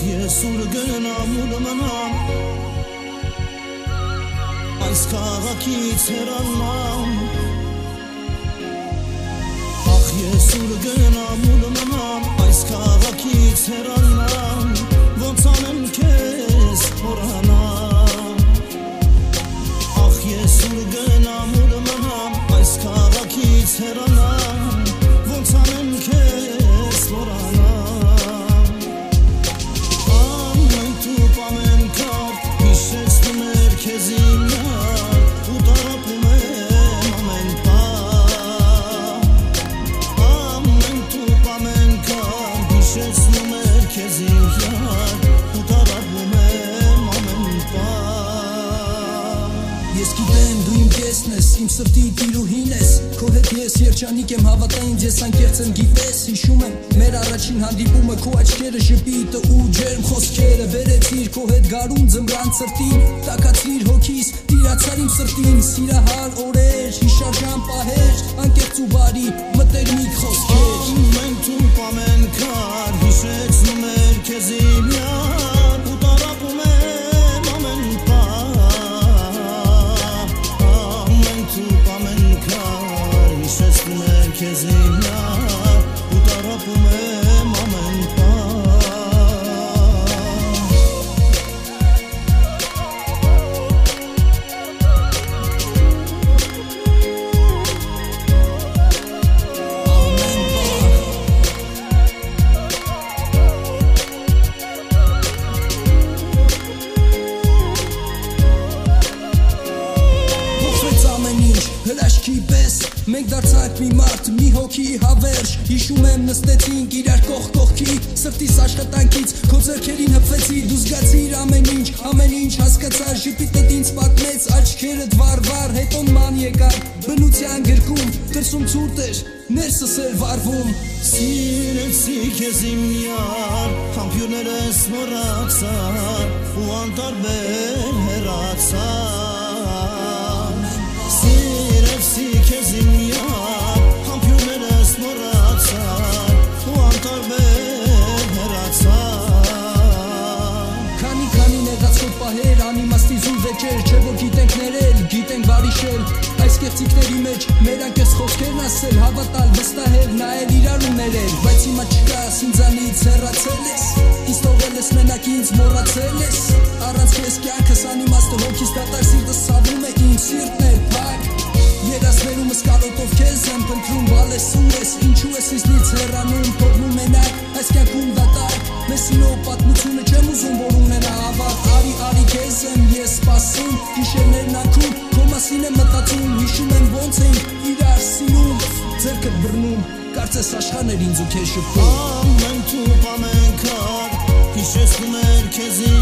ես ուր գնամ ու մնամ այս քաղաքից հեռանամ ախ ես ուր գնամ ու մնամ այս քաղաքից հեռանամ ոնց անեմ քեզ մոռանամ ախ ես ուր գնամ ու մնամ այս քաղաքից հեռանամ ոնց անեմ քեզ մոռանամ Իմ սրտի տիրուհին ես, քո հետ ես երջանիկ եմ հավատա ինձ ես անկեղծ եմ գիտես հիշում եմ մեր առաջին հանդիպումը քո աչքերը ժպիտը ու ջերմ խոսքերը վերեցիր քո հետ գարուն ձմռան սրտին տաքացիր հոգիս տիրացար իմ սրտին սիրահար օրեր հիշարժան պահեր անկեղծ ու բարի մտերմիկ խոսքեր մենք թուփ ամեն քար հիշեցնում էր քեզ իմ յար ու տարապում եմ ամեն Քեզ իմ յար ու տարապում եմ ամեն Փոխվեց ամեն ինչ հրաշքի պես Մենք դարձանք մի մարդ, մի հոգի հավերժ Հիշում եմ նստեցինք իրար կողք կողքի Սրտիս աշխատանքից քո ձեռքերին հպվեցի Դու զգացիր ամեն ինչ հասկացար Ժպիտդ ինձ պատմեց, աչքերդ վար Հետո ման եկար, բնության գրկում Դրսում ցուրտ էր, ներսս էր վարվում Սիրեցի քեզ իմ յար Համբյուրներս մոռացար Ու անտարբեր հեռացար Սիրեցի քեզ իմ յար Համբյուրներս մոռացար Ու անտարբեր հեռացար Քանի նեղացող պահեր անիմաստի զուր վեճեր Չէ որ գիտենք ներել, գիտենք բարիշել Այս կեղծիքների մեջ մեր անկեղծ խոսքերն ասել Հավատալ, վստահել, նայել իրար ու ներել Բայց հիմա չկաս ինձանից հեռացել ես Ինձ թողել ես մենակ ինձ մոռացել ես Առանց քեզ կյանքս անիմաստ է հոգիս դատարկ սիրտս ցավում է իմ սիրտն է փակ Երազներումս կարոտով քեզ եմ փնտրում բալեսում ես Ինչու ես ինձնից հեռանում թողնում մենակ Այս կյանքում դատարկ Մեսինով պատմությունը չեմ ուզում որ ունենա ավարտ Արի քեզ եմ ես սպասում Գիշերներն անքում քո մասին եմ մտածում Հիշում եմ ոնց ենք իրար սիրում Ձեռքդ բռնում Կարծես աշխարհն էր ինձ ու քեզ շփվում Ամեն թուփ ամեն քար Հիշեցնում էր քեզ